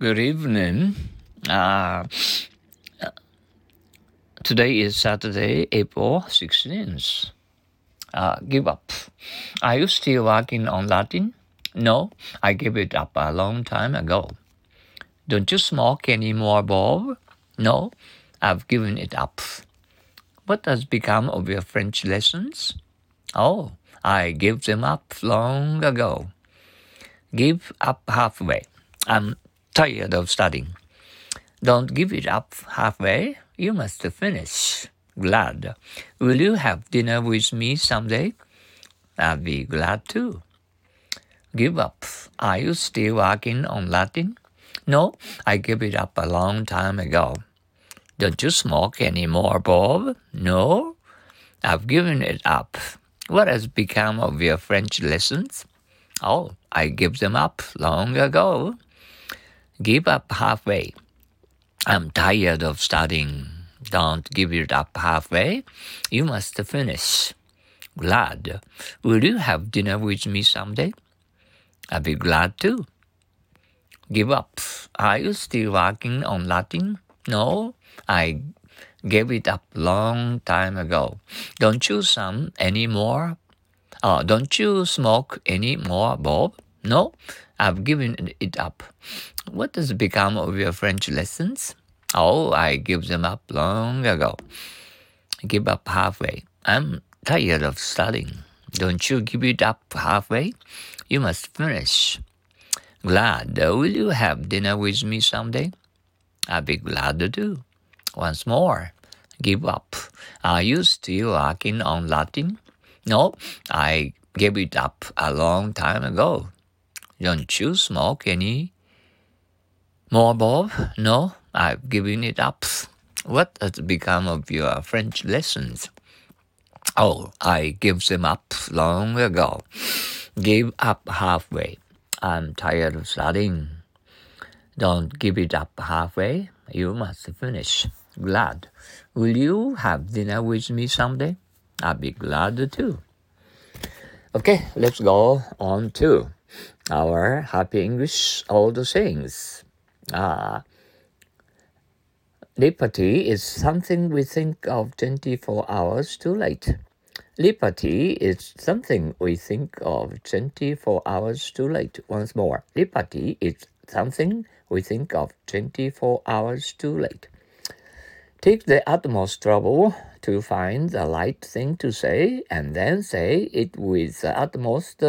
Good evening. Uh, Today is Saturday, April 16th. Give up. Are you still working on Latin? No, I gave it up a long time ago. Don't you smoke anymore, Bob? No, I've given it up. What has become of your French lessons? Oh, I gave them up long ago. Give up halfway. I'm tired of studying. Don't give it up halfway. You must finish. Glad. Will you have dinner with me someday? I'll be glad too. Give up. Are you still working on Latin? No, I gave it up a long time ago. Don't you smoke anymore, Bob? No, I've given it up. What has become of your French lessons? Oh, I gave them up long ago. Give up halfway. I'm tired of studying. Don't give it up halfway. You must finish. Glad. Will you have dinner with me someday? I'll be glad too. Give up. Are you still working on Latin? No, I gave it up long time ago. Don't you don't you smoke anymore, Bob? No, I've given it up. What has become of your French lessons? Oh, I gave them up long ago. Give up halfway. I'm tired of studying. Don't you give it up halfway? You must finish. Glad. Will you have dinner with me someday? I'll be glad to do. Once more. Give up. Are you still working on Latin? No, I gave it up a long time ago. Don't you smoke any more, Bob? No, I've given it up. What has become of your French lessons? Oh, I gave them up long ago. Give up halfway. I'm tired of studying. Don't give it up halfway. You must finish. Glad. Will you have dinner with me someday? I'll be glad too. Okay, let's go on to our Happy English Old Sayings. Liberty is something we think of 24 hours too late. Liberty is something we think of 24 hours too late. Once more. Liberty is something we think of 24 hours too late. Take the utmost trouble to find the right thing to say and then say it with the utmost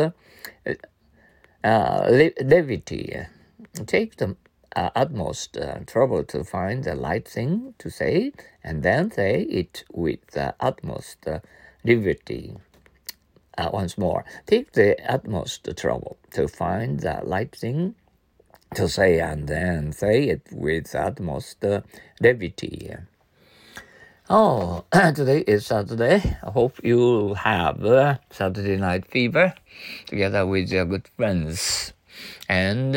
levity. Take the utmost trouble to find the right thing to say and then say it with the utmost levity. Once more, take the utmost trouble to find the right thing to say and then say it with the utmost levity. Oh, today is Saturday. I hope you have Saturday night fever together with your good friends. And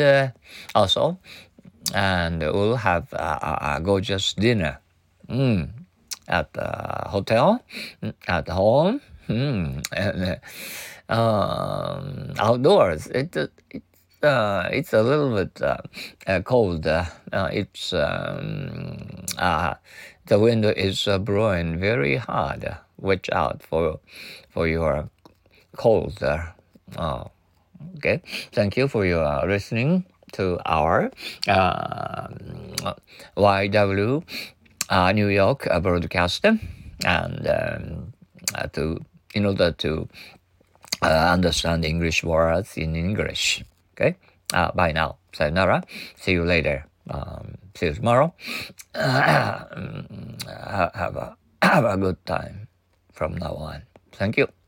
we'll have a gorgeous dinner at the hotel, at home, and outdoors. It's a little bit cold. The wind is blowing very hard. Watch out for your cold. Okay. Thank you for your listening to our YW New York broadcast, and in order to understand English words in English. Okay. Bye now. Sayonara. See you later. See you tomorrow. Have a good time from now on. Thank you.